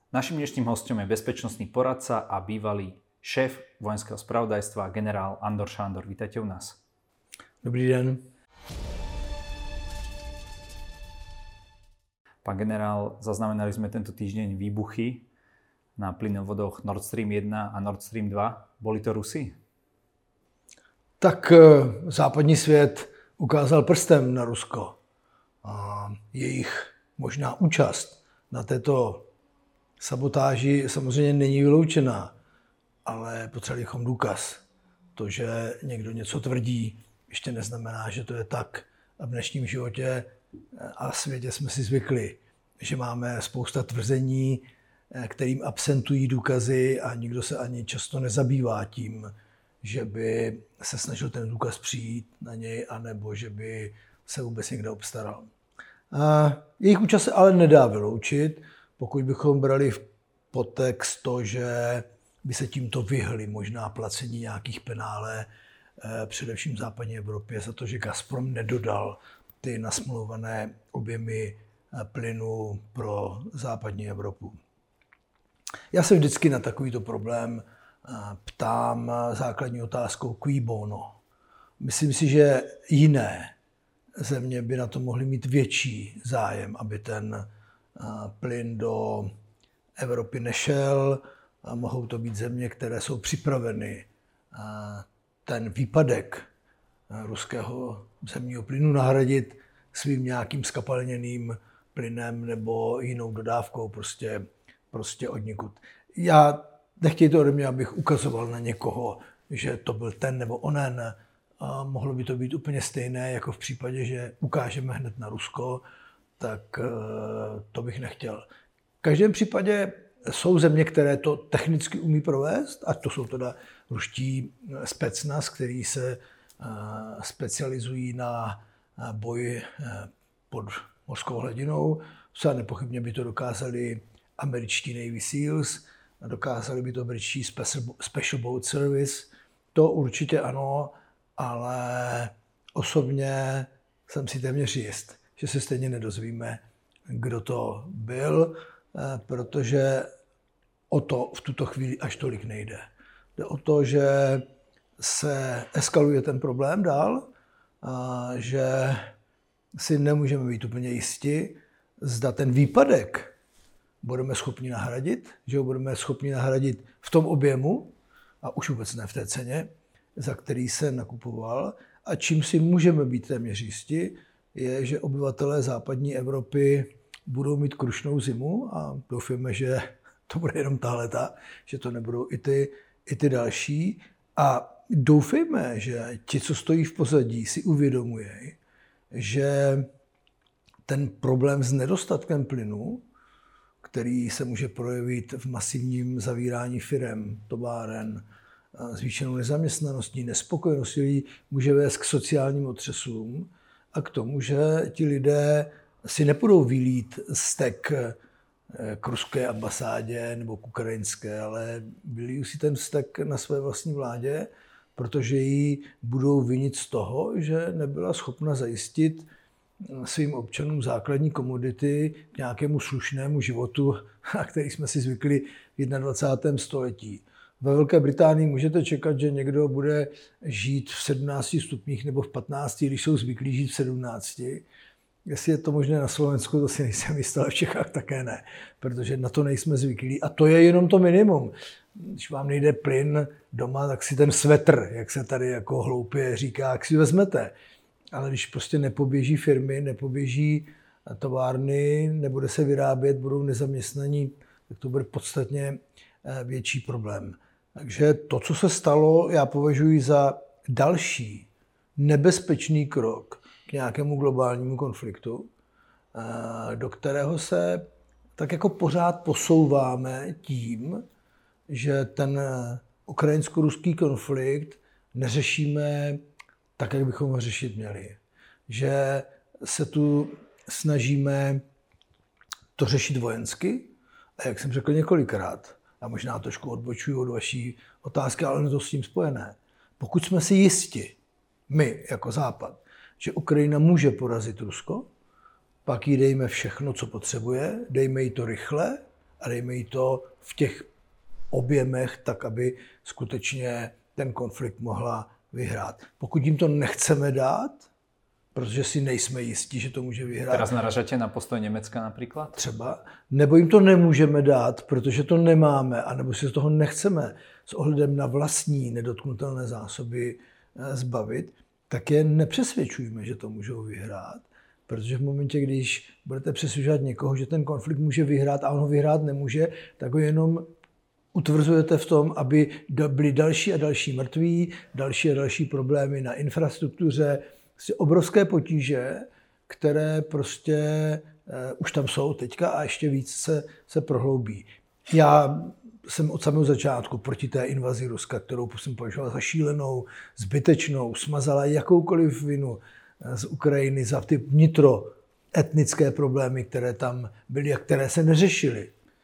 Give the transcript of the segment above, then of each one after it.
Naším dnešným hostom je bezpečnostný poradca a bývalý šéf vojenského spravodajstva generál Andor Šándor. Vítajte u nás. Dobrý den. Pán generál, zaznamenali sme tento týždeň výbuchy na plynovodoch Nord Stream 1 a Nord Stream 2. Boli to Rusi? Tak západní svět ukázal prstem na Rusko. A jejich možná účast na této sabotáži samozřejmě není vyloučená, ale potřebovali bychom důkaz. To, že někdo něco tvrdí, ještě neznamená, že to je tak. A v dnešním životě a světě jsme si zvykli, že máme spousta tvrzení, kterým absentují důkazy a nikdo se ani často nezabývá tím, že by se snažil ten důkaz přijít na něj, anebo že by se vůbec někde obstaral. A jejich účast se ale nedá vyloučit, pokud bychom brali v podtext to, že by se tímto vyhli možná placení nějakých penále, především v západní Evropě, za to, že Gazprom nedodal ty nasmlouvané objemy plynu pro západní Evropu. Já se vždycky na takovýto problém ptám základní otázkou cui bono. Myslím si, že jiné země by na to mohly mít větší zájem, aby ten plyn do Evropy nešel. A mohou to být země, které jsou připraveny ten výpadek ruského zemního plynu nahradit svým nějakým skapalněným plynem nebo jinou dodávkou prostě odnikud. Já nechtějte ode mě, abych ukazoval na někoho, že to byl ten nebo onen. Mohlo by to být úplně stejné, jako v případě, že ukážeme hned na Rusko, tak to bych nechtěl. V každém případě jsou země, které to technicky umí provést, a to jsou teda ruští specnaz, který se specializují na boj pod mořskou hladinou. Zcela nepochybně by to dokázali američtí Navy Seals, dokázali by to britští Special Boat Service. To určitě ano, ale osobně jsem si téměř jist, že se stejně nedozvíme, kdo to byl, protože o to v tuto chvíli až tolik nejde. Jde o to, že se eskaluje ten problém dál, že si nemůžeme být úplně jisti, zda ten výpadek budeme schopni nahradit, že ho budeme schopni nahradit v tom objemu, a už vůbec ne v té ceně, za který se nakupoval. A čím si můžeme být téměř jisti, je, že obyvatelé západní Evropy budou mít krušnou zimu a doufáme, že to bude jenom tahleta, že to nebudou i ty další. A doufejme, že ti, co stojí v pozadí, si uvědomují, že ten problém s nedostatkem plynu, který se může projevit v masivním zavírání firem, továren, zvýšenou nezaměstnaností, nespokojeností lidí, může vést k sociálním otřesům a k tomu, že ti lidé si nepůjdou vylít vztek k ruské ambasádě nebo k ukrajinské, ale vylijí si ten vztek na své vlastní vládě, protože ji budou vinit z toho, že nebyla schopna zajistit svým občanům základní komodity k nějakému slušnému životu, na který jsme si zvykli v 21. století. Ve Velké Británii můžete čekat, že někdo bude žít v 17 stupních nebo v 15, když jsou zvyklí žít v 17. Jestli je to možné na Slovensku, to si nejsem jistý, ale v Čechách také ne, protože na to nejsme zvyklí. A to je jenom to minimum. Když vám nejde plyn doma, tak si ten svetr, jak se tady jako hloupě říká, jak si vezmete. Ale když prostě nepoběží firmy, nepoběží továrny, nebude se vyrábět, budou nezaměstnaní, tak to bude podstatně větší problém. Takže to, co se stalo, já považuji za další nebezpečný krok k nějakému globálnímu konfliktu, do kterého se tak jako pořád posouváme tím, že ten ukrajinsko-ruský konflikt neřešíme tak, jak bychom ho řešit měli. Že se tu snažíme to řešit vojensky a jak jsem řekl několikrát, a možná trošku odbočuju od vaší otázky, ale je to s tím spojené. Pokud jsme si jisti, my jako Západ, že Ukrajina může porazit Rusko, pak jí dejme všechno, co potřebuje, dejme jí to rychle a dejme jí to v těch objemech, tak aby skutečně ten konflikt mohla vyhrát. Pokud jim to nechceme dát, protože si nejsme jistí, že to může vyhrát. Teraz naražate na postoj Německa například? Třeba. Nebo jim to nemůžeme dát, protože to nemáme, anebo si z toho nechceme s ohledem na vlastní nedotknutelné zásoby zbavit, tak je nepřesvědčujeme, že to můžou vyhrát. Protože v momentě, když budete přesvědčovat někoho, že ten konflikt může vyhrát a on ho vyhrát nemůže, tak ho jenom utvrzujete v tom, aby byly další a další mrtví, další a další problémy na infrastruktuře, prostě obrovské potíže, které prostě už tam jsou teďka a ještě víc se prohloubí. Já jsem od samého začátku proti té invazi Ruska, kterou jsem považoval za šílenou, zbytečnou, smazala jakoukoliv vinu z Ukrajiny za ty vnitroetnické problémy, které tam byly a které se neřešily.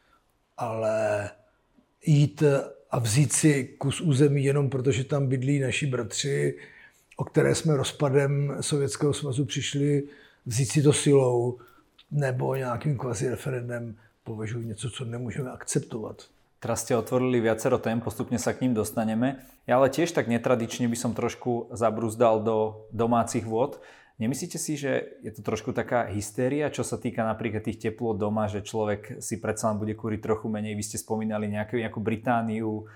Ale jít a vzít si kus území jenom protože tam bydlí naši bratři, o které jsme rozpadem Sovětského svazu přišli, vzít si to silou nebo nějakým kvazi referendem, považuji něco, co nemůžeme akceptovat. Teraz ste otvorili viacero tém, postupne sa k ním dostaneme. Ja ale tiež tak netradične by som trošku zabrúzdal do domácich vôd. Nemyslíte si, že je to trošku taká hystéria, čo sa týka napríklad tých teplôt doma, že človek si predsa len bude kúriť trochu menej? Vy ste spomínali nejakú Britániu,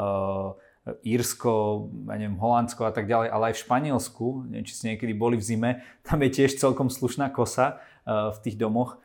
Írsko, ja neviem, Holandsko a tak ďalej, ale aj v Španielsku, neviem, či ste niekedy boli v zime, tam je tiež celkom slušná kosa v tých domoch.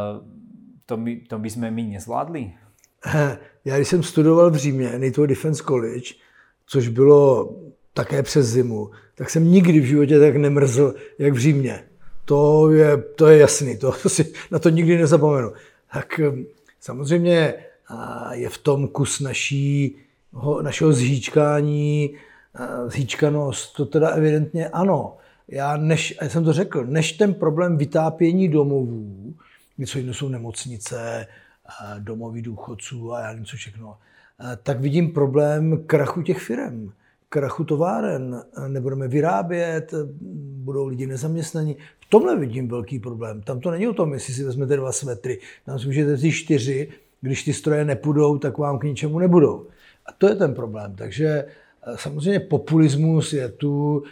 To by sme my nezvládli? Já když jsem studoval v Římě, NATO Defense College, což bylo také přes zimu, tak jsem nikdy v životě tak nemrzl, jak v Římě. To je jasný, na to nikdy nezapomenu. Tak samozřejmě je v tom kus našeho zhýčkání, zhýčkanost, to teda evidentně ano. Já jsem to řekl, než ten problém vytápění domovů, něco jiného jsou nemocnice, domovy důchodců a já nevím co všechno, tak vidím problém krachu těch firem, krachu továren. Nebudeme vyrábět, budou lidi nezaměstnaní. V tomhle vidím velký problém. Tam to není o tom, jestli si vezmete 2 svetry. Tam si můžete vzít 4, když ty stroje nepůjdou, tak vám k ničemu nebudou. A to je ten problém. Takže samozřejmě populismus je tu,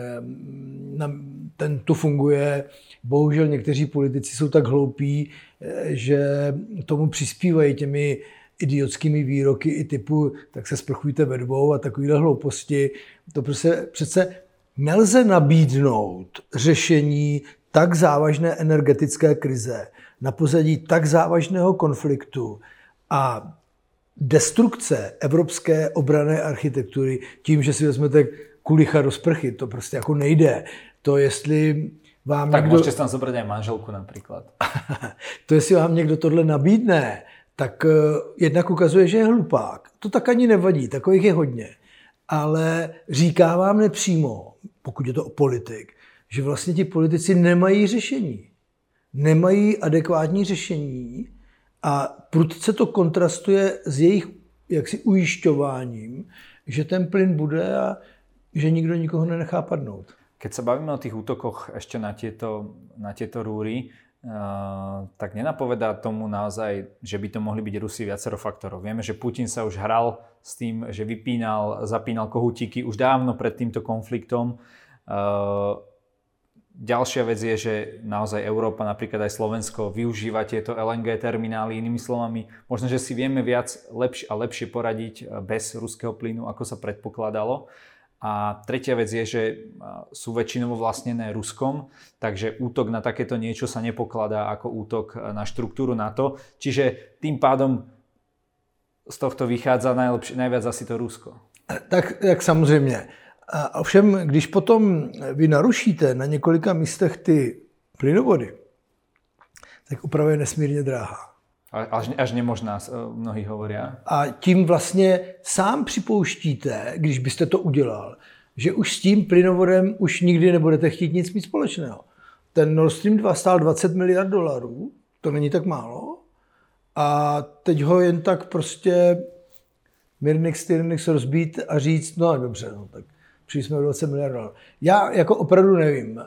ten tu funguje. Bohužel někteří politici jsou tak hloupí, že tomu přispívají těmi idiotskými výroky i typu tak se sprchujte ve 2 a takovýhle hlouposti. To přece nelze nabídnout řešení tak závažné energetické krize na pozadí tak závažného konfliktu a destrukce evropské obranné architektury tím, že si vezmete kulicha do sprchy. To prostě jako nejde. To jestli vám tak můžete tam zobrať aj manželku například. To jestli vám někdo tohle nabídne, tak jednak ukazuje, že je hlupák. To tak ani nevadí, takových je hodně. Ale říká vám nepřímo, pokud je to o politik, že vlastně ti politici nemají řešení. Nemají adekvátní řešení a prudce to kontrastuje s jejich jaksi ujišťováním, že ten plyn bude a že nikdo nikoho nenechá padnout. Keď sa bavíme o tých útokoch ešte na tieto rúry, tak nenapovedá tomu naozaj, že by to mohli byť Rusi viacero faktorov. Vieme, že Putin sa už hral s tým, že zapínal kohútiky už dávno pred týmto konfliktom. Ďalšia vec je, že naozaj Európa, napríklad aj Slovensko, využíva tieto LNG terminály. Inými slovami, možno, že si vieme lepšie poradiť bez ruského plynu, ako sa predpokladalo. A tretia vec je, že sú väčšinovo vlastnené Ruskom, takže útok na takéto niečo sa nepokladá ako útok na štruktúru NATO. Čiže tým pádom z tohto vychádza najviac asi to Rusko. Tak samozřejmě. A ovšem, když potom vy narušíte na několika místech ty plynovody, tak oprava je nesmírně drahá. Až nemožná, mnohí hovoria. A tím vlastně sám připouštíte, když byste to udělal, že už s tím plynovodem už nikdy nebudete chtít nic mít společného. Ten Nord Stream 2 stál $20 miliard, to není tak málo. A teď ho jen tak prostě Mirnix rozbít a říct, no dobře, no, tak přišli jsme o $20 miliard. Já jako opravdu nevím.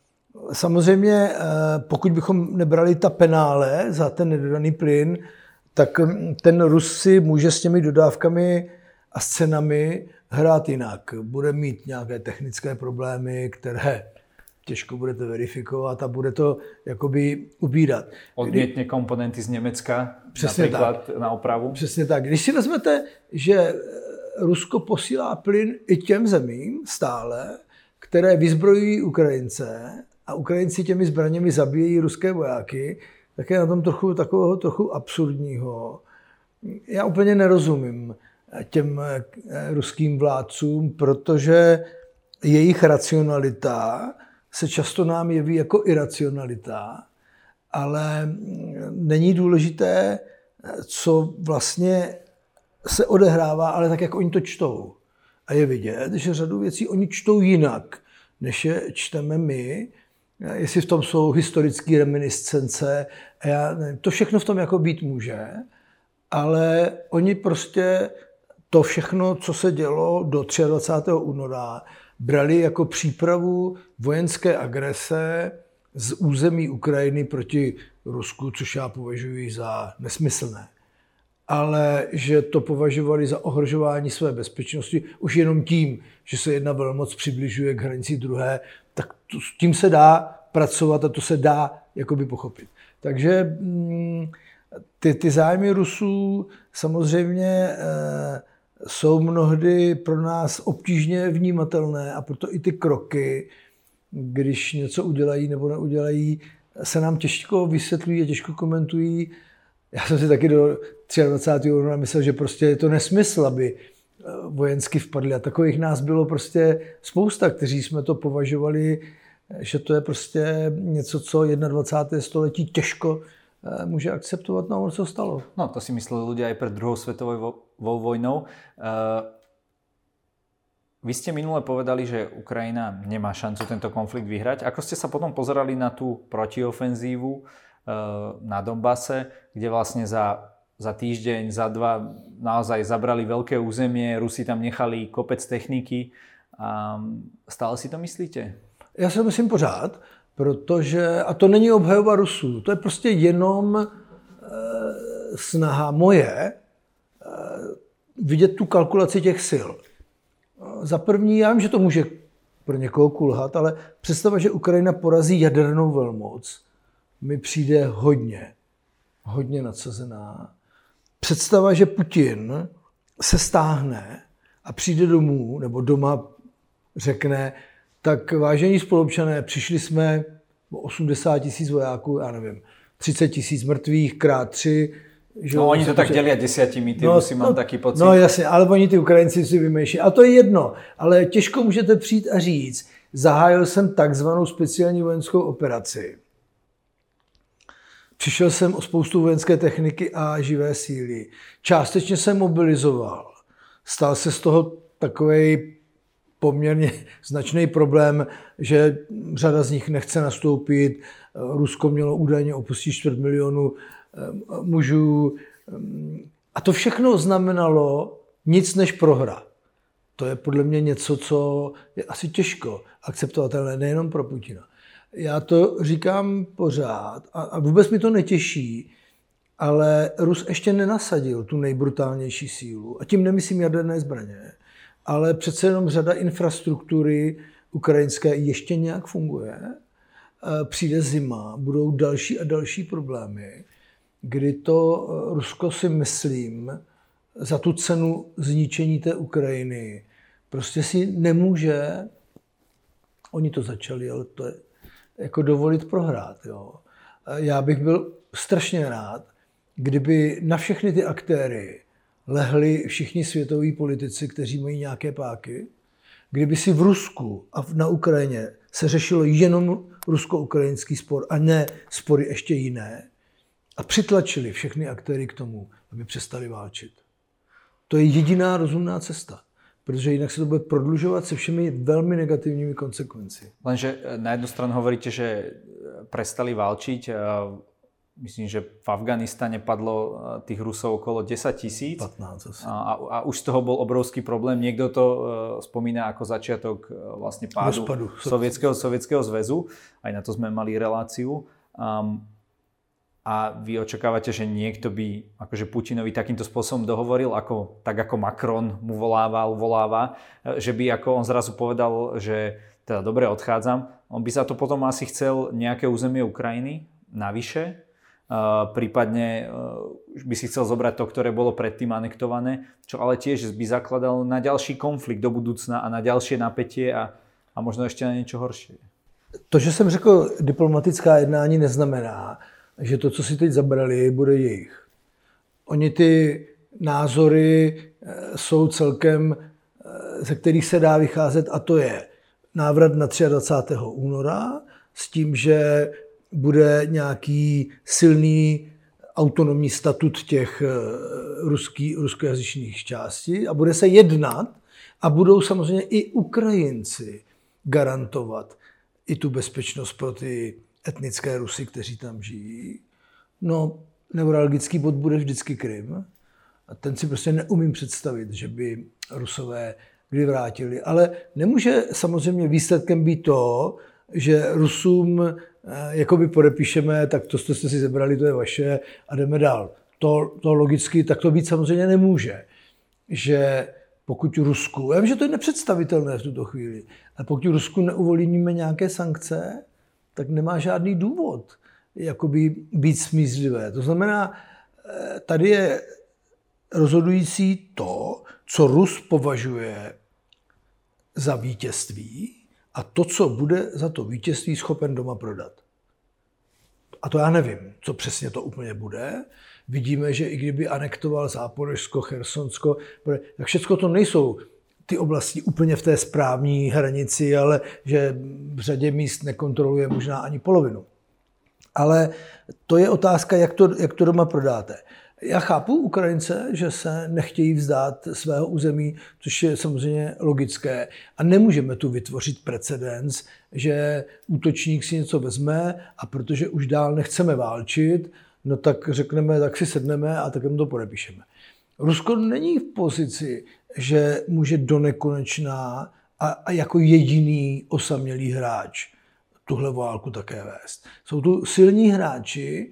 Samozřejmě, pokud bychom nebrali ta penále za ten nedodaný plyn, tak ten Rus si může s těmi dodávkami a s cenami hrát jinak. Bude mít nějaké technické problémy, které těžko budete verifikovat a bude to jakoby ubírat. Odmětne komponenty z Německa, například tak, na opravu? Přesně tak. Když si vezmete, že Rusko posílá plyn i těm zemím stále, které vyzbrojují Ukrajince a Ukrajinci těmi zbraněmi zabíjejí ruské vojáky, tak je na tom trochu absurdního. Já úplně nerozumím těm ruským vládcům, protože jejich racionalita se často nám jeví jako iracionalita, ale není důležité, co vlastně se odehrává, ale tak, jak oni to čtou. A je vidět, že řadu věcí oni čtou jinak, než je čteme my. Jestli v tom jsou historické reminiscence, to všechno v tom jako být může, ale oni prostě to všechno, co se dělo do 23. února, brali jako přípravu vojenské agrese z území Ukrajiny proti Rusku, což já považuji za nesmyslné. Ale že to považovali za ohrožování své bezpečnosti už jenom tím, že se jedna velmoc přibližuje k hranici druhé, tak s tím se dá pracovat a to se dá jakoby pochopit. Takže ty zájmy Rusů samozřejmě jsou mnohdy pro nás obtížně vnímatelné a proto i ty kroky, když něco udělají nebo neudělají, se nám těžko vysvětlují a těžko komentují. Já jsem si taky do 23. února myslel, že prostě je to nesmysl, aby vojensky vpadli. A takových nás bylo prostě spousta, kteří jsme to považovali, že to je prostě něco, co 21. století těžko může akceptovat, no ono se stalo. No to si mysleli ľudia aj pred druhou svetovou vojnou. Vy ste minule povedali, že Ukrajina nemá šancu tento konflikt vyhrať. Ako ste sa potom pozerali na tú protiofenzívu na Donbase, kde vlastne za týždeň, za dva naozaj zabrali veľké územie, Rusi tam nechali kopec techniky. Stále si to myslíte? Já si to myslím pořád, protože, a to není obhajoba Rusů, to je prostě jenom snaha moje vidět tu kalkulaci těch sil. Za první, já vím, že to může pro někoho kulhat, ale představa, že Ukrajina porazí jadernou velmoc, mi přijde hodně nadsazená. Představa, že Putin se stáhne a přijde domů, nebo doma řekne, tak vážení spoluobčané, přišli jsme o 80 000 vojáků, já nevím, 30 000 mrtvých krát 3. Že no oni to tak dělí 10, ty Rusy mám taky pocit. No jasně, ale oni ty Ukrajinci si vymýšlí. A to je jedno, ale těžko můžete přijít a říct, zahájil jsem takzvanou speciální vojenskou operaci. Přišel jsem o spoustu vojenské techniky a živé síly. Částečně jsem mobilizoval. Stal se z toho takovej poměrně značný problém, že řada z nich nechce nastoupit. Rusko mělo údajně opustit 250 000 mužů. A to všechno znamenalo nic než prohra. To je podle mě něco, co je asi těžko akceptovatelné, nejenom pro Putina. Já to říkám pořád a vůbec mi to netěší, ale Rus ještě nenasadil tu nejbrutálnější sílu. A tím nemyslím jaderné zbraně, ale přece jenom řada infrastruktury ukrajinské ještě nějak funguje. Přijde zima, budou další a další problémy, kdy to Rusko si myslím za tu cenu zničení té Ukrajiny prostě si nemůže, oni to začali, ale to je jako dovolit prohrát. Jo. Já bych byl strašně rád, kdyby na všechny ty aktéry lehli všichni světoví politici, kteří mají nějaké páky, kdyby si v Rusku a na Ukrajině se řešilo jenom rusko-ukrajinský spor a ne spory ještě jiné a přitlačili všechny aktéry k tomu, aby přestali válčit. To je jediná rozumná cesta, protože jinak se to bude prodlužovat se všemi velmi negativními konsekvencemi. Lenže na jednu stranu hovoríte, že prestali válčiť. Myslím, že v Afganistane padlo tých Rusov okolo 10 000. 15 a už z toho bol obrovský problém. Niekto to spomína ako začiatok vlastne pádu Sovietskeho zväzu. Aj na to sme mali reláciu. a vy očakávate, že niekto by akože Putinovi takýmto spôsobom dohovoril, tak ako Macron mu voláva, že by ako on zrazu povedal, že teda dobre, odchádzam. On by za to potom asi chcel nejaké územie Ukrajiny navyše, prípadne by si chcel zobrať to, ktoré bolo predtým anektované, čo ale tiež by zakladal na ďalší konflikt do budúcna a na ďalšie napätie a možno ešte na niečo horšie. To, že jsem řekl diplomatická jednání, neznamená, že to, co si teď zabrali, bude jejich. Oni ty názory jsou celkem, ze kterých se dá vycházet, a to je návrat na 23. února s tím, že bude nějaký silný autonomní statut těch ruskojazyčných částí a bude se jednat a budou samozřejmě i Ukrajinci garantovat i tu bezpečnost pro ty etnické Rusy, kteří tam žijí. No, neuralgický bod bude vždycky Krym. A ten si prostě neumím představit, že by Rusové kdy vrátili. Ale nemůže samozřejmě výsledkem být to, že Rusům jakoby podepíšeme, tak to jste si zebrali, to je vaše a jdeme dál. To logicky tak to být samozřejmě nemůže. Že pokud Rusku, já vím, že to je nepředstavitelné v tuto chvíli, ale pokud Rusku neuvolíme nějaké sankce, tak nemá žádný důvod jakoby být smířlivé. To znamená, tady je rozhodující to, co Rus považuje za vítězství a to, co bude za to vítězství schopen doma prodat. A to já nevím, co přesně to úplně bude. Vidíme, že i kdyby anektoval Záporožsko, Chersonsko, tak všechno to nejsou ty oblasti úplně v té správní hranici, ale že v řadě míst nekontroluje možná ani polovinu. Ale to je otázka, jak to doma prodáte. Já chápu Ukrajince, že se nechtějí vzdát svého území, což je samozřejmě logické. A nemůžeme tu vytvořit precedens, že útočník si něco vezme a protože už dál nechceme válčit, no tak řekneme, tak si sedneme a tak jim to podepíšeme. Rusko není v pozici, že může do nekonečna a jako jediný osamělý hráč tuhle válku také vést. Jsou tu silní hráči,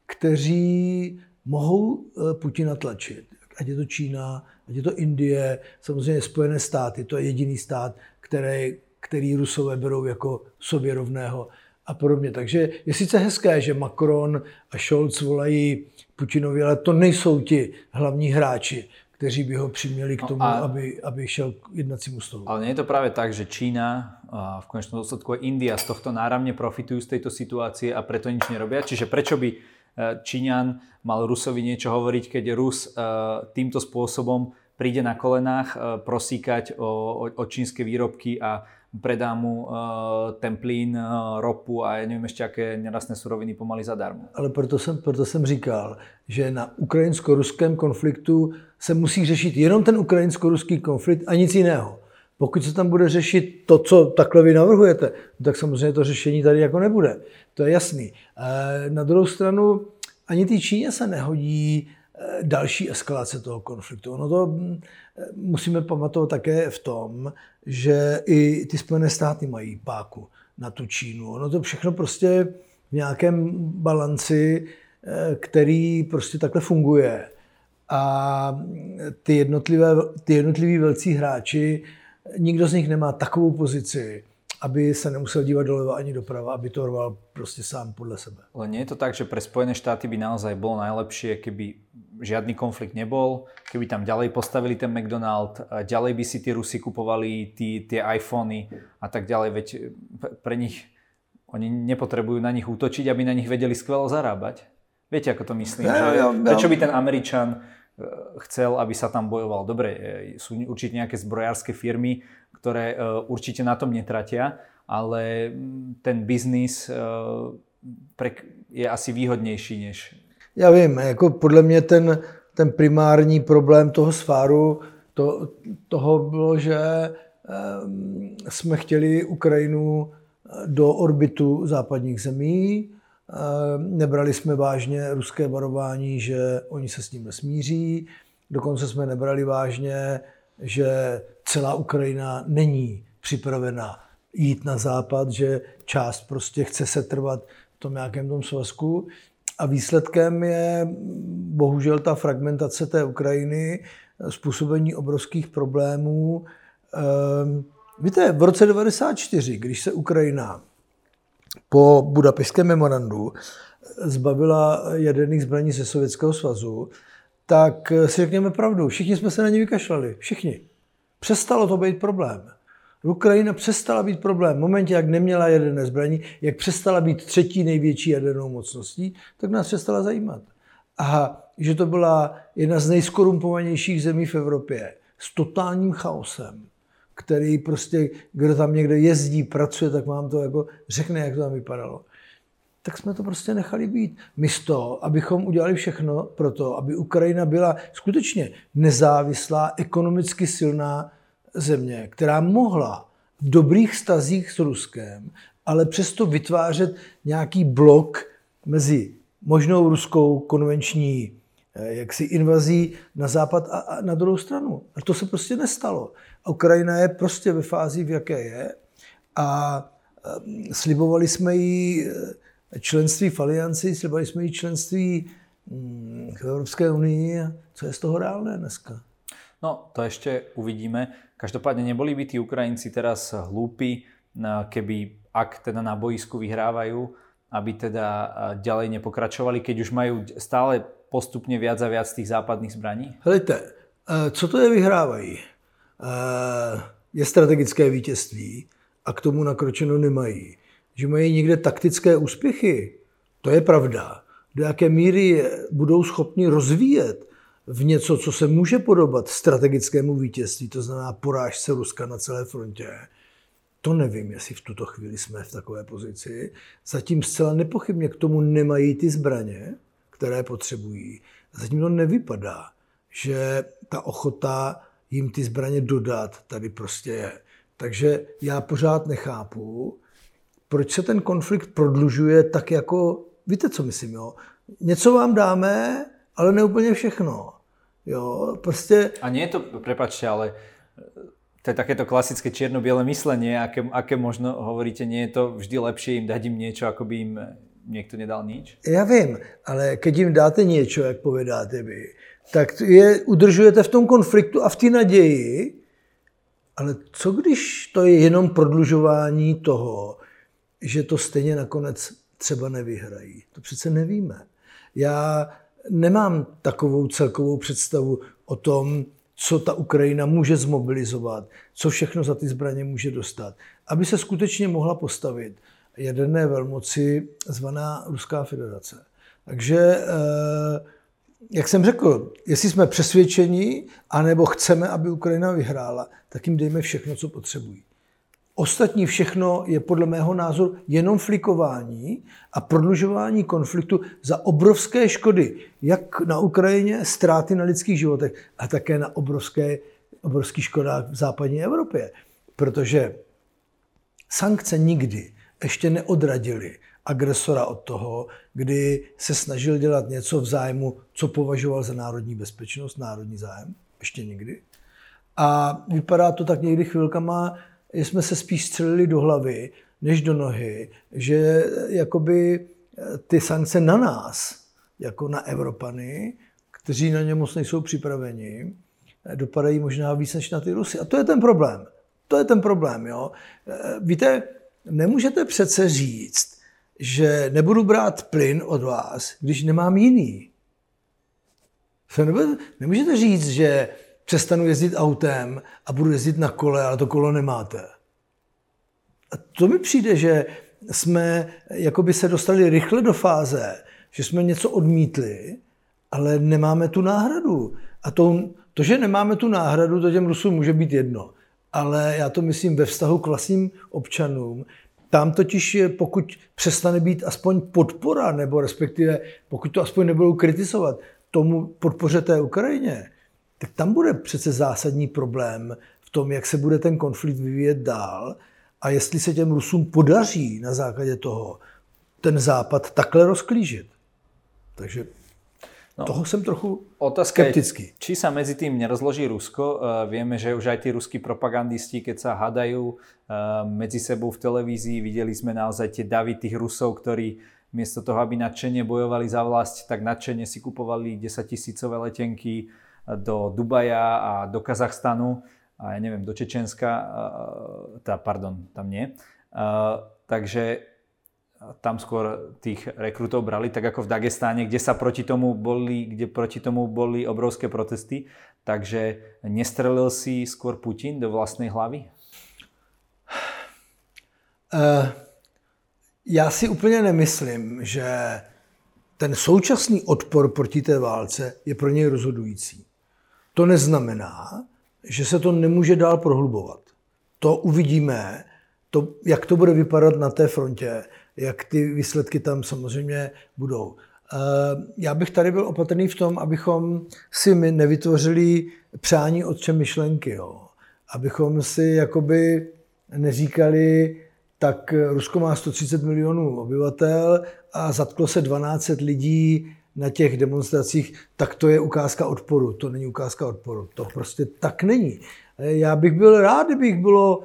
kteří mohou Putina tlačit. Ať je to Čína, ať je to Indie, samozřejmě Spojené státy, to je jediný stát, který Rusové berou jako sobě rovného a podobně. Takže je sice hezké, že Macron a Scholz volají Putinovi, ale to nejsou ti hlavní hráči, kteří by ho přiměli k tomu, aby šel k jednacímu stolu. Ale nie je to práve tak, že Čína a v konečnom dôsledku aj India z tohto náramne profitujú z tejto situácie a preto nič nerobia? Čiže prečo by Číňan mal Rusovi niečo hovoriť, keď Rus týmto spôsobom príde na kolenách prosíkať o čínske výrobky a predá mu ten plyn, ropu a ja neviem ešte aké nerastné suroviny pomaly zadarmo. Ale proto jsem říkal, že na ukrajinsko-ruském konfliktu se musí řešit jenom ten ukrajinsko-ruský konflikt a nic jiného. Pokud se tam bude řešit to, co takhle vy navrhujete, tak samozřejmě to řešení tady jako nebude. To je jasný. Na druhou stranu ani té Číně se nehodí další eskalace toho konfliktu. Ono to musíme pamatovat také v tom, že i ty Spojené státy mají páku na tu Čínu. Ono to všechno prostě v nějakém balanci, který prostě takhle funguje. A ty jednotliví velcí hráči, nikdo z nich nemá takovou pozici, aby sa nemusel dívať doleva ani doprava, aby to rval prostě sám podle sebe. Ale nie je to tak, že pre Spojené štáty by naozaj bolo najlepšie, keby žiadny konflikt nebol, keby tam ďalej postavili ten McDonald, ďalej by si tí Rusi kupovali tie iPhony a tak ďalej, veď pre nich, oni nepotrebujú na nich útočiť, aby na nich vedeli skvelo zarábať. Viete, ako to myslím? Prečo by ten Američan chcel, aby sa tam bojoval? Dobre, sú určite nejaké zbrojárske firmy, ktoré určite na tom netratia, ale ten biznis je asi výhodnější než... Já vím, jako podle mě ten primární problém toho sváru toho bylo, že jsme chtěli Ukrajinu do orbitu západních zemí, nebrali jsme vážně ruské varování, že oni se s ním nesmíří, dokonce jsme nebrali vážně, že celá Ukrajina není připravena jít na západ, že část prostě chce setrvat v tom nějakém tom svazku. A výsledkem je bohužel ta fragmentace té Ukrajiny, způsobení obrovských problémů. Víte, v roce 1994, když se Ukrajina po Budapešťském memorandu zbavila jaderných zbraní ze Sovětského svazu, tak si řekněme pravdu, všichni jsme se na ně vykašlali. Všichni. Přestalo to být problém. Ukrajina přestala být problém. V momentě, jak neměla jaderné zbraní, jak přestala být třetí největší jadernou mocností, tak nás přestala zajímat. A že to byla jedna z nejskorumpovanějších zemí v Evropě s totálním chaosem, který prostě, kdo tam někde jezdí, pracuje, tak vám to jako řekne, jak to tam vypadalo. Tak jsme to prostě nechali být. Místo, abychom udělali všechno pro to, aby Ukrajina byla skutečně nezávislá, ekonomicky silná země, která mohla v dobrých vztazích s Ruskem, ale přesto vytvářet nějaký blok mezi možnou ruskou konvenční invazí na západ a na druhou stranu. A to se prostě nestalo. Ukrajina je prostě ve fázi, v jaké je, a slibovali jsme jí členství v alianci, slibovali jsme jí členství v Evropské unii. Co je z toho reálné dneska? No, to ešte uvidíme. Každopádne neboli by tí Ukrajinci teraz hlúpi, keby, ak teda na boisku vyhrávajú, aby teda ďalej nepokračovali, keď už majú stále postupne viac a viac tých západných zbraní? Helejte, co to je vyhrávají? Je strategické vítězství a k tomu nakročeno nemají. Že mají někde taktické úspěchy, to je pravda. Do jaké míry budou schopni rozvíjet v něco, co se může podobat strategickému vítězství, to znamená porážce Ruska na celé frontě, to nevím, jestli v tuto chvíli jsme v takové pozici. Zatím zcela nepochybně k tomu nemají ty zbraně, které potřebují. Zatím to nevypadá, že ta ochota jim ty zbraně dodat tady prostě je. Takže já pořád nechápu, proč se ten konflikt prodlužuje tak jako, víte, co myslím, jo? Něco vám dáme, ale ne úplně všechno. Jo, prostě... A nie je to, prepáčte, ale to je takéto klasické čierno-biele myslenie, aké možno hovoríte, nie je to vždy lepšie im dať im niečo, ako by im niekto nedal nič? Já vím, ale keď jim dáte něco, jak povedáte vy, tak je udržujete v tom konfliktu a v té naději, ale co když to je jenom prodlužování toho, že to stejně nakonec třeba nevyhrají? To přece nevíme. Já nemám takovou celkovou představu o tom, co ta Ukrajina může zmobilizovat, co všechno za ty zbraně může dostat, aby se skutečně mohla postavit jaderné velmoci zvaná Ruská federace. Takže, jak jsem řekl, jestli jsme přesvědčeni, anebo chceme, aby Ukrajina vyhrála, tak jim dejme všechno, co potřebují. Ostatní všechno je podle mého názoru jenom flikování a prodlužování konfliktu za obrovské škody, jak na Ukrajině, ztráty na lidských životech, a také na obrovských škodách v západní Evropě. Protože sankce nikdy ještě neodradily agresora od toho, kdy se snažil dělat něco v zájmu, co považoval za národní bezpečnost, národní zájem. Ještě nikdy. A vypadá to tak někdy chvilkama, že jsme se spíš střelili do hlavy, než do nohy, že jakoby ty sankce na nás, jako na Evropany, kteří na ně moc nejsou připraveni, dopadají možná víc než na ty Rusy. A to je ten problém. To je ten problém, jo. Víte, nemůžete přece říct, že nebudu brát plyn od vás, když nemám jiný. Nemůžete říct, že přestanu jezdit autem a budu jezdit na kole, ale to kolo nemáte. A to mi přijde, že jsme jakoby se dostali rychle do fáze, že jsme něco odmítli, ale nemáme tu náhradu. A to, že nemáme tu náhradu, to těm Rusům může být jedno. Ale já to myslím ve vztahu k vlastním občanům. Tam totiž, pokud přestane být aspoň podpora, nebo respektive pokud to aspoň nebudou kritizovat tomu podpoře té Ukrajině, tak tam bude přece zásadní problém v tom, jak se bude ten konflikt vyvíjet dál a jestli se těm Rusům podaří na základě toho ten západ takhle rozklížit. Takže toho jsem trochu skeptický. Je, či sa medzi tým nerozloží Rusko? Vieme, že už aj tí ruskí propagandisti, keď sa hádajú medzi sebou v televízii, videli sme naozaj tie davy tých Rusov, ktorí miesto toho, aby nadšene bojovali za vlast, tak nadšene si kupovali 10 000 letenky do Dubaja a do Kazachstanu a ja neviem, do Čečenska, tam nie. Takže tam skôr tých rekrutov brali, tak ako v Dagestáne, kde proti tomu boli obrovské protesty. Takže nestrelil si skôr Putin do vlastnej hlavy? Já si úplně nemyslím, že ten současný odpor proti té válce je pro něj rozhodující. To neznamená, že se to nemůže dál prohlubovat. To uvidíme, jak to bude vypadat na té frontě, jak ty výsledky tam samozřejmě budou. Já bych tady byl opatrný v tom, abychom si my nevytvořili přání otče myšlenky. Jo. Abychom si jakoby neříkali, tak Rusko má 130 milionů obyvatel a zatklo se 1200 lidí na těch demonstracích, tak to je ukázka odporu. To není ukázka odporu. To prostě tak není. Já bych byl rád, kdybych bylo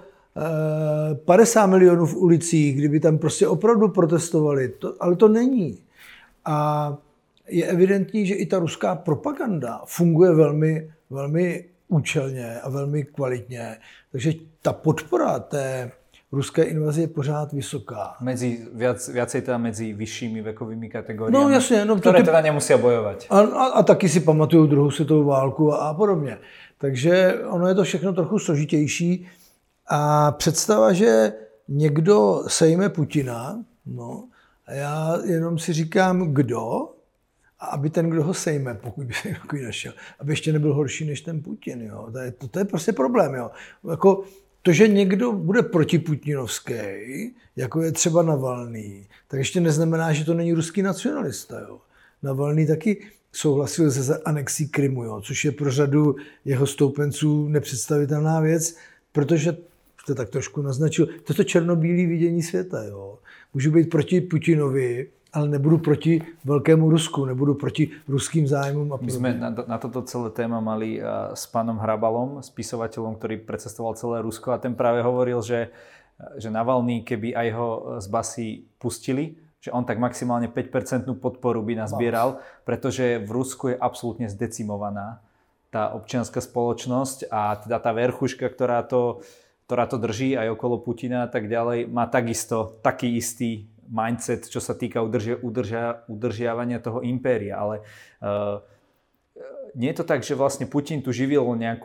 50 milionů v ulicích, kdyby tam prostě opravdu protestovali, ale to není. A je evidentní, že i ta ruská propaganda funguje velmi, velmi účelně a velmi kvalitně. Takže ta podpora té ruské invaze je pořád vysoká. Viacej teda medzi vyššími vekovými kategóriami, no, jasně, ktoré teda nemusia bojovať. A taky si pamatují druhou světovou válku a podobně. Takže ono je to všechno trochu složitější. A představa, že někdo sejme Putina, no, a já jenom si říkám, kdo, a aby ten, kdo ho sejme, pokud by se takový našel, aby ještě nebyl horší než ten Putin. Jo. To je prostě problém. Jo. Jako to, že někdo bude protiputinovský, jako je třeba Navalný, tak ještě neznamená, že to není ruský nacionalista. Jo. Navalný taky souhlasil se anexí Krymu, jo, což je pro řadu jeho stoupenců nepředstavitelná věc, protože to tak trošku naznačil, to je to černobílé vidění světa. Jo. Můžu být proti Putinovi, ale nebudu proti veľkému Rusku, nebudu proti ruským zájmům. My sme na toto celé téma mali s pánom Hrabalom, spisovateľom, ktorý precestoval celé Rusko a ten práve hovoril, že Navalný, keby aj ho z basy pustili, že on tak maximálne 5% podporu by nazbieral, pretože v Rusku je absolútne zdecimovaná tá občianská spoločnosť a teda tá verchuška, ktorá to drží aj okolo Putina a tak ďalej, má takisto taký istý mindset, čo sa týka udržiavania toho impéria. Ale nie je to tak, že vlastne Putin tu živil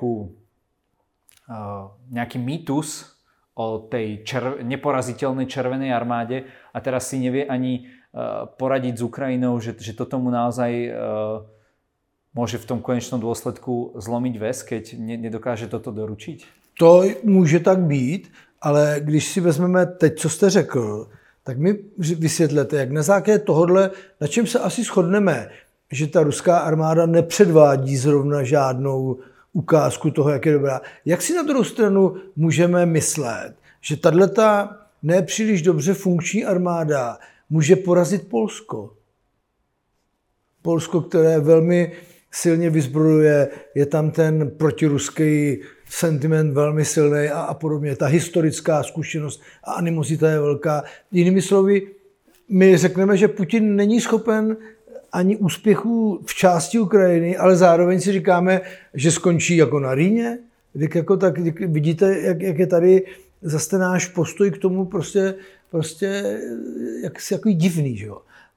nejaký mýtus o tej neporaziteľnej červenej armáde a teraz si nevie ani poradiť s Ukrajinou, že to tomu naozaj môže v tom konečnom dôsledku zlomiť väz, keď nedokáže toto doručiť? To může tak být, ale když si vezmeme teď, co jste řekl, tak mi vysvětlete, jak na základě tohohle, na čem se asi shodneme, že ta ruská armáda nepředvádí zrovna žádnou ukázku toho, jak je dobrá. Jak si na druhou stranu můžeme myslet, že tato nepříliš dobře funkční armáda může porazit Polsko? Polsko, které velmi silně vyzbrojuje, je tam ten protiruský sentiment velmi silný a podobně. Ta historická zkušenost a animozita je velká. Jinými slovy, my řekneme, že Putin není schopen ani úspěchů v části Ukrajiny, ale zároveň si říkáme, že skončí jako na Rýně. Tak vidíte, jak je tady zase ten náš postoj k tomu prostě jako divný. Že jo?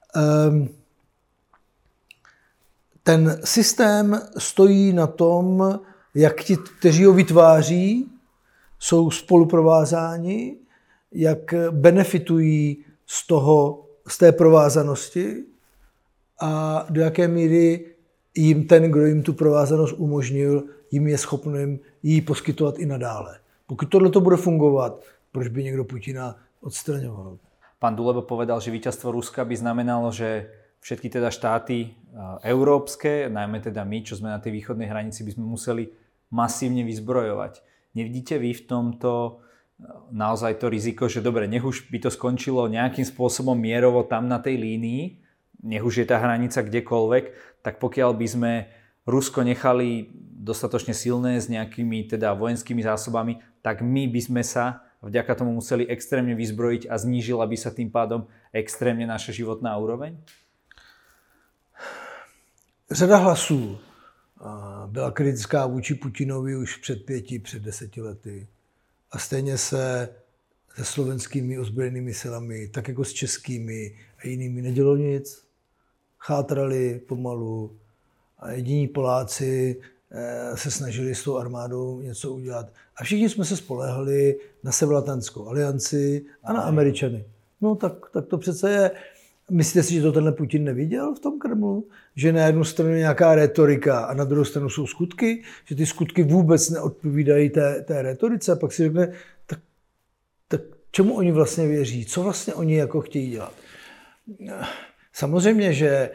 Ten systém stojí na tom, jak ti, kteří ho vytváří, jsou spoluprovázáni, jak benefitují z té provázanosti a do jaké míry jim ten, kdo jim tu provázanost umožnil, jim je schopným ji poskytovat i nadále. Pokud tohle bude fungovat, proč by někdo Putina odstraňoval? Pán Duleba povedal, že víťazstvo Ruska by znamenalo, že všetky teda štáty európske, najmä teda my, čo sme na tej východnej hranici, by sme museli masívne vyzbrojovať. Nevidíte vy v tomto naozaj to riziko, že dobre, nech už by to skončilo nejakým spôsobom mierovo tam na tej línii, nech už je tá hranica kdekoľvek, tak pokiaľ by sme Rusko nechali dostatočne silné s nejakými teda vojenskými zásobami, tak my by sme sa vďaka tomu museli extrémne vyzbrojiť a znížila by sa tým pádom extrémne naša životná úroveň? Řada hlasů byla kritická vůči Putinovi už před 5, před 10 lety. A stejně se slovenskými ozbrojenými silami, tak jako s českými a jinými nedělo nic. Chátrali pomalu a jediní Poláci se snažili s tou armádou něco udělat. A všichni jsme se spoléhali na Severoatlantickou alianci a na Američany. No tak to přece je. Myslíte si, že to tenhle Putin neviděl v tom Kremlu? Že na jednu stranu je nějaká retorika a na druhou stranu jsou skutky? Že ty skutky vůbec neodpovídají té retorice? A pak si řekne, tak čemu oni vlastně věří? Co vlastně oni jako chtějí dělat? Samozřejmě, že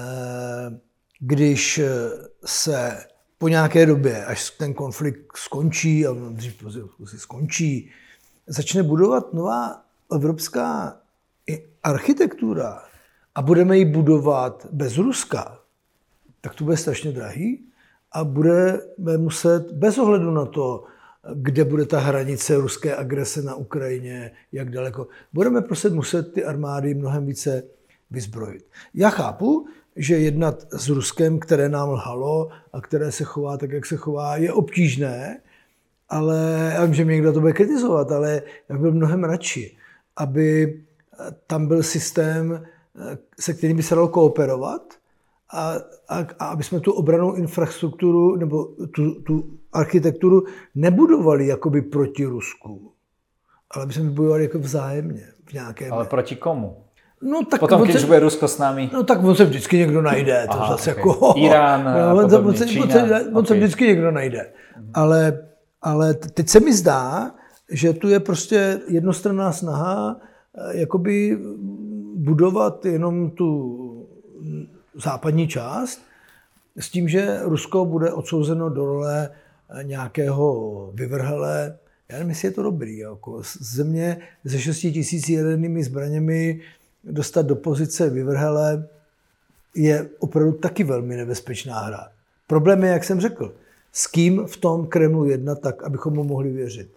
když se po nějaké době, až ten konflikt skončí, a dřív si skončí, začne budovat nová evropská architektura a budeme ji budovat bez Ruska, tak to bude strašně drahý a budeme muset, bez ohledu na to, kde bude ta hranice ruské agrese na Ukrajině, jak daleko, budeme prostě muset ty armády mnohem více vyzbrojit. Já chápu, že jednat s Ruskem, které nám lhalo a které se chová tak, jak se chová, je obtížné, ale já vím, že mě někdo to bude kritizovat, ale já bych byl mnohem radši, aby tam byl systém, se kterým by se dalo kooperovat a aby jsme tu obrannou infrastrukturu nebo tu architekturu nebudovali jakoby proti Rusku, ale aby jsme budovali jako vzájemně. V nějakém... Ale proti komu? No, tak potom, když bude Rusko s námi... No tak on se vždycky někdo najde. To zase okay. Jako... Irán a podobně, Čína. On se vždycky někdo najde. Ale teď se mi zdá, že tu je prostě jednostranná snaha jakoby budovat jenom tu západní část s tím, že Rusko bude odsouzeno do role nějakého vyvrhele. Já nevím, jestli je to dobrý. Jako země se 6 000 jadernými zbraněmi dostat do pozice vyvrhele je opravdu taky velmi nebezpečná hra. Problém je, jak jsem řekl, s kým v tom Kremlu jednat tak, abychom mu mohli věřit.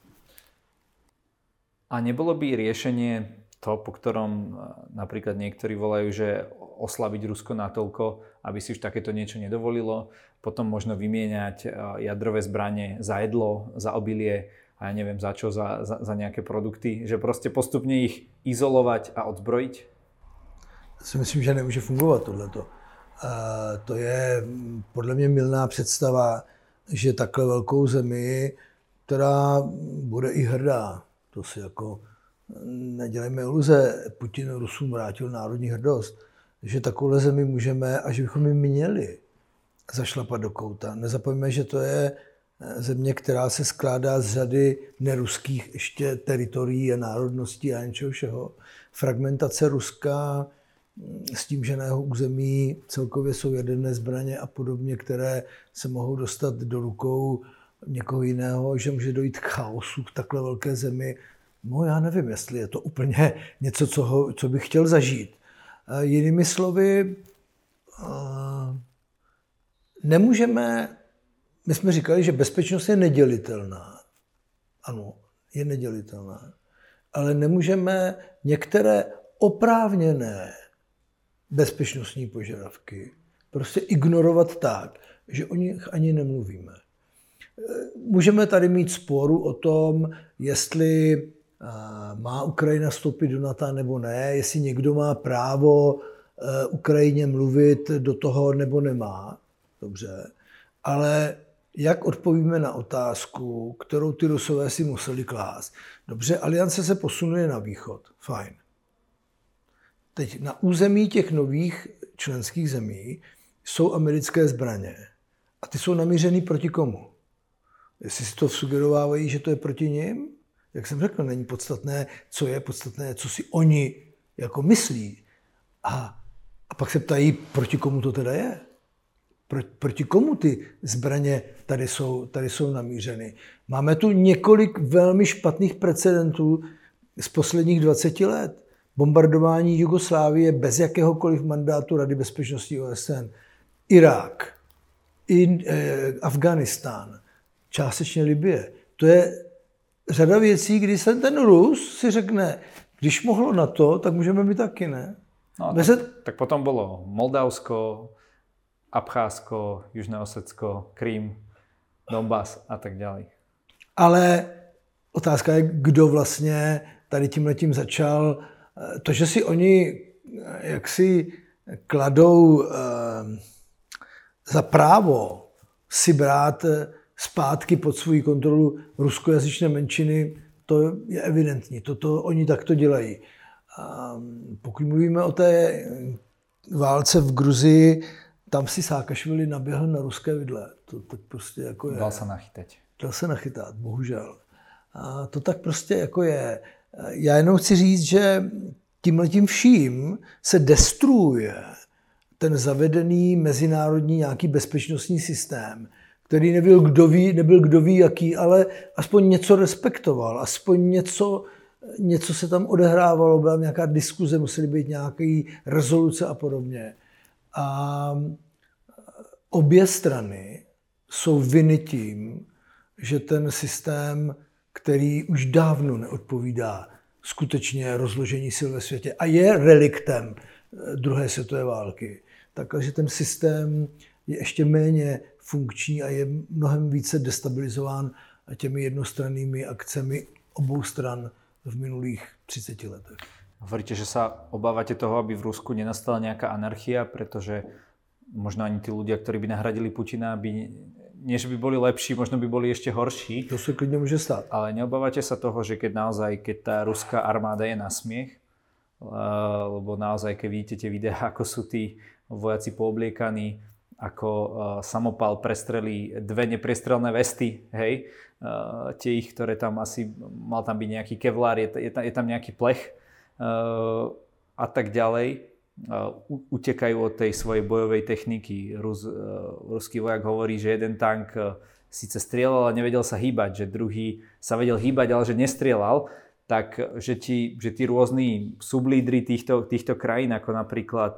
A nebolo by riešenie to, po ktorom napríklad niektorí volajú, že oslabiť Rusko natoľko, aby si už takéto niečo nedovolilo, potom možno vymieňať jadrové zbranie za jedlo, za obilie a ja neviem za čo, za nejaké produkty, že proste postupne ich izolovať a odzbrojiť? Já si myslím, že nemůže fungovat tohleto. To je podle mě mylná představa, že takhle velkou zemi, která bude i hrdá, to si jako nedělejme iluze, Putin Rusům vrátil národní hrdost, že takovou zemi můžeme a že bychom ji měli zašlapat do kouta. Nezapomeňme, že to je země, která se skládá z řady neruských ještě teritorií a národností a něčeho všeho. Fragmentace Ruska s tím, že na jeho území celkově jsou jaderné zbraně a podobně, které se mohou dostat do rukou někoho jiného, že může dojít k chaosu k takhle velké zemi. No já nevím, jestli je to úplně něco, co bych chtěl zažít. Jinými slovy, nemůžeme, my jsme říkali, že bezpečnost je nedělitelná. Ano, je nedělitelná. Ale nemůžeme některé oprávněné bezpečnostní požadavky prostě ignorovat tak, že o nich ani nemluvíme. Můžeme tady mít sporu o tom, jestli má Ukrajina vstoupit do NATO nebo ne, jestli někdo má právo Ukrajině mluvit do toho nebo nemá. Dobře. Ale jak odpovíme na otázku, kterou ty Rusové si museli klást? Dobře, aliance se posunuje na východ. Fajn. Teď na území těch nových členských zemí jsou americké zbraně. A ty jsou namířený proti komu? Jestli si to sugerovávají, že to je proti nim? Jak jsem řekl, není podstatné, co je podstatné, co si oni jako myslí. A pak se ptají, proti komu to teda je? Proti komu ty zbraně tady jsou namířeny? Máme tu několik velmi špatných precedentů z posledních 20 let. Bombardování Jugoslávie bez jakéhokoliv mandátu Rady bezpečnosti OSN. Irák, Afghánistán, částečně Libye. To je řada věcí, kdy se ten Rus si řekne, když mohlo na to, tak můžeme my taky, ne? No, tak potom bolo Moldavsko, Abcházsko, Južné Osecko, Krym, Donbas a tak ďalej. Ale otázka je, kdo vlastně tady tímhletím začal. To, že si oni jaksi kladou za právo si brát zpátky pod svou kontrolu ruskojazyčné menšiny, to je evidentní. To oni takto dělají. Pokud mluvíme o té válce v Gruzii, tam si Sákašvili naběhl na ruské vidle. To tak prostě jako je. Dal se nachytat, bohužel. A to tak prostě jako je. Já jenom chci říct, že tímhletím vším se destruuje ten zavedený mezinárodní nějaký bezpečnostní systém, který nebyl kdo ví jaký, ale aspoň něco respektoval, aspoň něco se tam odehrávalo, byla nějaká diskuze, musely být nějaké rezoluce a podobně. A obě strany jsou viny tím, že ten systém, který už dávno neodpovídá skutečně rozložení sil ve světě a je reliktem druhé světové války, takže ten systém je ještě méně funkční a je mnohem více destabilizován těmi jednostrannými akcemi obou stran v minulých 30 letech. Hovoríte, že sa obávate toho, aby v Rusku nenastala nejaká anarchia, pretože možno ani tí ľudia, ktorí by nahradili Putina, nie že by boli lepší, možno by boli ešte horší. To sa klidne môže stať. Ale neobávate sa toho, že keď tá ruská armáda je na smiech, lebo naozaj, keď vidíte tie videá, ako sú tí vojaci poobliekaní, ako samopal prestrelí 2 nepriestrelné vesty, hej, tie ich, ktoré tam asi, mal tam byť nejaký kevlár, je tam nejaký plech a tak ďalej, utekajú od tej svojej bojovej techniky. Ruský vojak hovorí, že jeden tank síce strieľal, ale nevedel sa hýbať, že druhý sa vedel hýbať, ale že nestrieľal, tak že tí rôzni sublídri týchto krajín, ako napríklad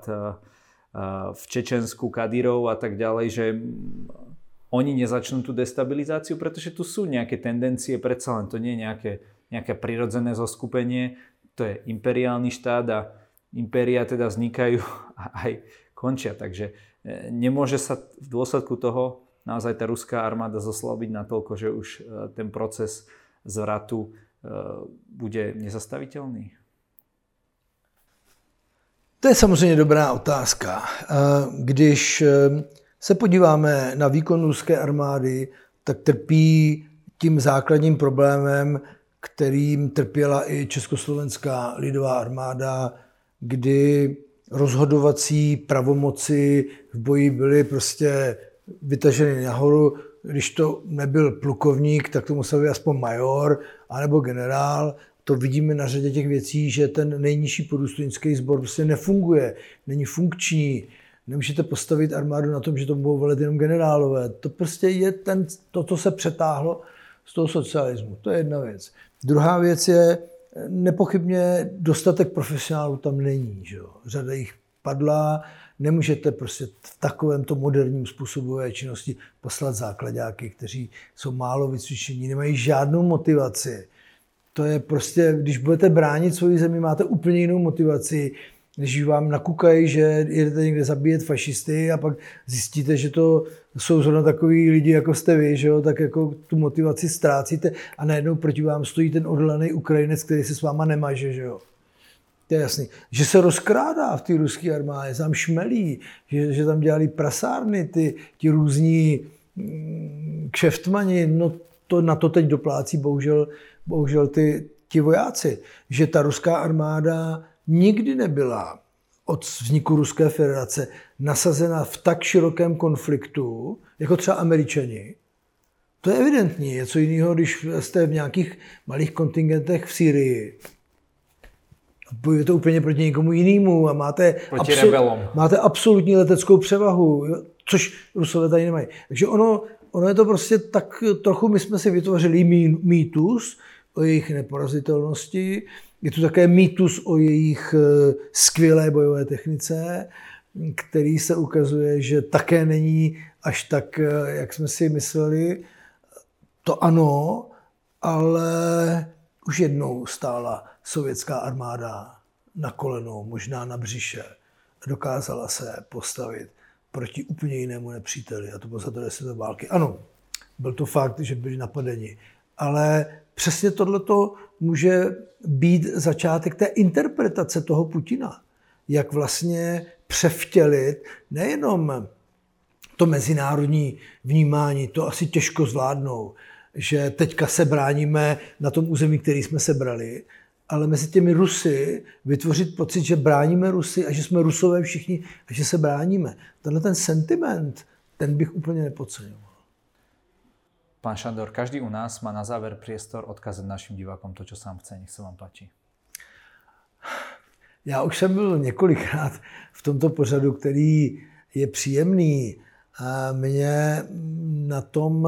v Čečensku Kadyrov a tak ďalej, že oni nezačnú tú destabilizáciu, pretože tu sú nejaké tendencie, predsa len to nie je nejaké prirodzené zoskupenie, to je imperiálny štát a impéria teda vznikajú a aj končia. Takže nemôže sa v dôsledku toho naozaj tá ruská armáda zoslabiť natoľko, že už ten proces zvratu bude nezastaviteľný? To je samozřejmě dobrá otázka. Když se podíváme na výkon ruské armády, tak trpí tím základním problémem, kterým trpěla i Československá lidová armáda, kdy rozhodovací pravomoci v boji byly prostě vytaženy nahoru. Když to nebyl plukovník, tak to musel být aspoň major anebo generál. To vidíme na řadě těch věcí, že ten nejnižší podůstojnický sbor prostě nefunguje, není funkční. Nemůžete postavit armádu na tom, že to budou velet jenom generálové. To prostě je to se přetáhlo z toho socialismu. To je jedna věc. Druhá věc je, nepochybně dostatek profesionálů tam není. Že jo? Řada jich padla, nemůžete prostě v takovémto moderním způsobu činnosti poslat základáky, kteří jsou málo vycvičení, nemají žádnou motivaci. To je prostě, když budete bránit svoji zemi, máte úplně jinou motivaci, než vám nakukají, že jedete někde zabíjet fašisty a pak zjistíte, že to jsou zrovna takový lidi, jako jste vy, že jo? Tak jako tu motivaci ztrácíte a najednou proti vám stojí ten odhodlaný Ukrajinec, který se s váma nemaže, že jo. To je jasný. Že se rozkrádá v té ruské armádě, tam šmelí, že tam dělali prasárny, ti různí kšeftmani, no to na to teď doplácí bohužel ti vojáci. Že ta ruská armáda nikdy nebyla od vzniku Ruské federace nasazena v tak širokém konfliktu, jako třeba Američani. To je evidentní. Je co jiného, když jste v nějakých malých kontingentech v Sýrii. Bojujete úplně proti někomu jinému a máte absolutní leteckou převahu, což Rusové tady nemají. Takže ono je to prostě tak trochu, my jsme si vytvořili mýtus o jejich neporazitelnosti. Je tu také mýtus o jejich skvělé bojové technice, který se ukazuje, že také není až tak, jak jsme si mysleli. To ano, ale už jednou stála sovětská armáda na kolenou, možná na břiše. Dokázala se postavit proti úplně jinému nepříteli, a to bylo za druhé světové války. Ano, byl to fakt, že byli napadeni, ale přesně tohleto může být začátek té interpretace toho Putina. Jak vlastně převtělit nejenom to mezinárodní vnímání, to asi těžko zvládnou, že teďka se bráníme na tom území, který jsme sebrali, ale mezi těmi Rusy vytvořit pocit, že bráníme Rusy a že jsme Rusové všichni a že se bráníme. Tenhle ten sentiment, ten bych úplně nepodceňoval. Pán Šandor, každý u nás má na záver priestor odkázat našim divákom to, čo sám chce. Nech se vám páči. Já už jsem byl několikrát v tomto pořadu, který je příjemný. A mě na tom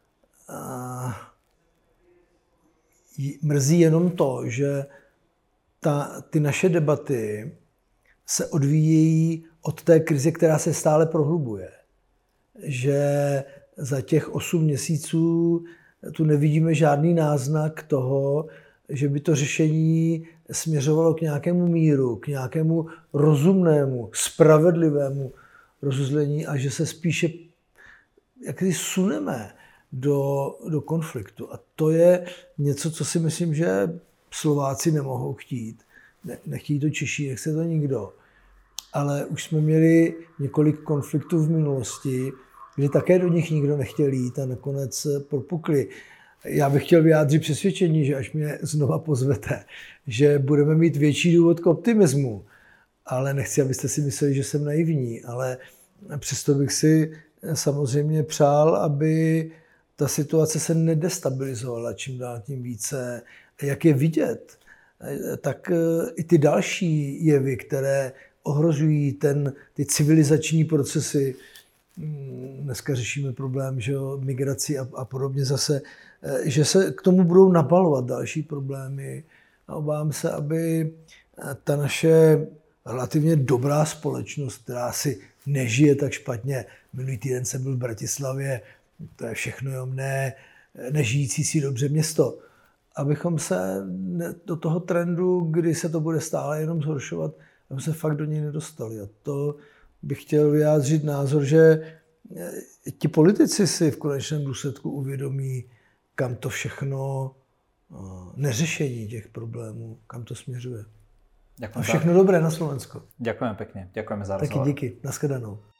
mrzí jenom to, že ty naše debaty se odvíjejí od té krize, která se stále prohlubuje. Že za těch 8 měsíců tu nevidíme žádný náznak toho, že by to řešení směřovalo k nějakému míru, k nějakému rozumnému, spravedlivému rozuzlení a že se spíše jaksi suneme do konfliktu. A to je něco, co si myslím, že Slováci nemohou chtít. Nechtějí to Češi, nechce to nikdo. Ale už jsme měli několik konfliktů v minulosti, kdy také do nich nikdo nechtěl jít a nakonec propukli. Já bych chtěl vyjádřit přesvědčení, že až mě znova pozvete, že budeme mít větší důvod k optimismu. Ale nechci, abyste si mysleli, že jsem naivní, ale přesto bych si samozřejmě přál, aby ta situace se nedestabilizovala čím dál tím více. Jak je vidět, tak i ty další jevy, které ohrožují ty civilizační procesy. Dneska řešíme problém, že jo, migraci a podobně zase, že se k tomu budou nabalovat další problémy. A obávám se, aby ta naše relativně dobrá společnost, která si nežije tak špatně. Minulý týden jsem byl v Bratislavě, to je všechno jenom nežijící si dobře město. Abychom se do toho trendu, kdy se to bude stále jenom zhoršovat, aby se fakt do něj nedostali. A to bych chtěl vyjádřit názor, že ti politici si v konečném důsledku uvědomí, kam to všechno, neřešení těch problémů, kam to směřuje. Ďakujem. A všechno dobré na Slovensku. Ďakujem pekne. Ďakujeme za rozhovor. Taky díky. Nashledanou.